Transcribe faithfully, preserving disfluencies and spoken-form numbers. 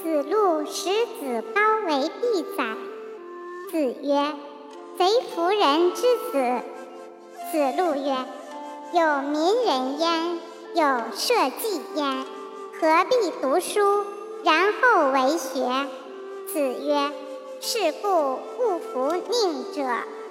子路使子高为必宰。子曰：贼夫人之子。子路曰：有民人焉，有社稷焉，何必读书，然后为学？子曰：是故勿服佞者。